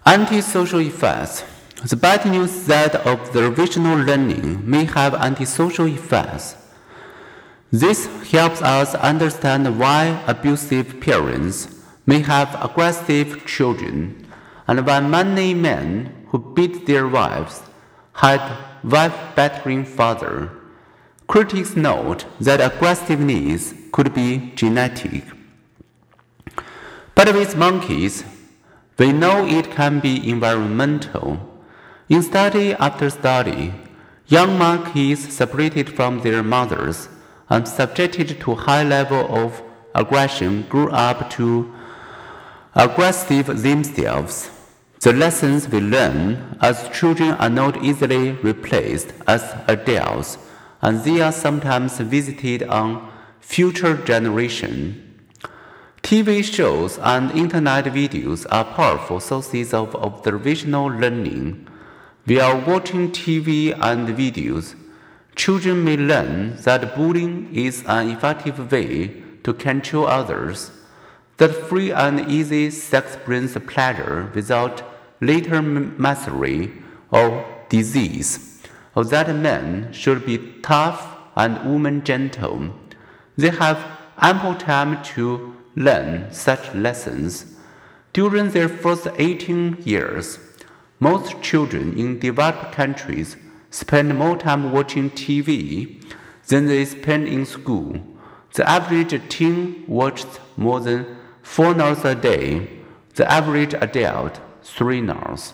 Antisocial effects. The bad news is that observational learning may have antisocial effects. This helps us understand why abusive parents may have aggressive children, and why many men who beat their wives had wife-battering father. Critics note that aggressiveness could be genetic. But with monkeys, we know it can be environmental. In study after study, young monkeys separated from their mothers and subjected to high level of aggression grew up to aggressive themselves. The lessons we learn as children are not easily replaced as adults, and they are sometimes visited on future generations. TV shows and internet videos are powerful sources of observational learning. While watching TV and videos, children may learn that bullying is an effective way to control others, that free and easy sex brings pleasure without later misery or disease, or that men should be tough and women gentle. They have ample time to learn such lessons. During their first 18 years, most children in developed countries spend more time watching TV than they spend in school. The average teen watches more than 4 hours a day, the average adult 3 hours.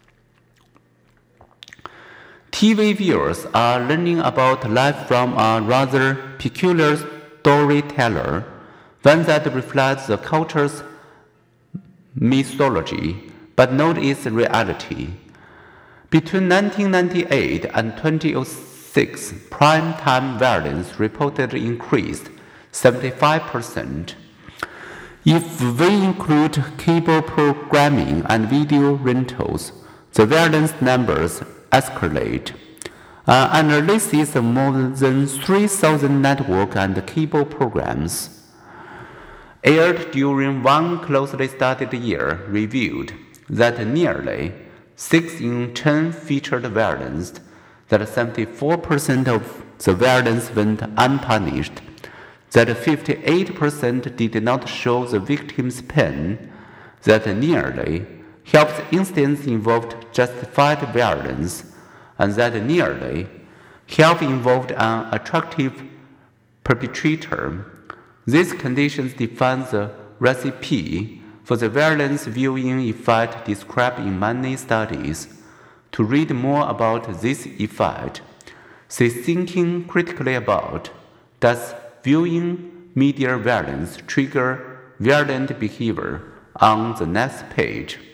TV viewers are learning about life from a rather peculiar storyteller, one that reflects the culture's mythology, but not its reality. Between 1998 and 2006, prime-time violence reportedly increased 75%. If we include cable programming and video rentals, the violence numbers escalate. An analysis of more than 3,000 network and cable programs aired during one closely studied year revealed that nearly 6 in 10 featured violence, that 74% of the violence went unpunished, that 58% did not show the victim's pain, that nearly half the incidents involved justified violence, and that nearly half involved an attractive perpetrator. These conditions define the recipe for the violence viewing effect described in many studies. To read more about this effect, see thinking critically about, does viewing media violence trigger violent behavior, on the next page.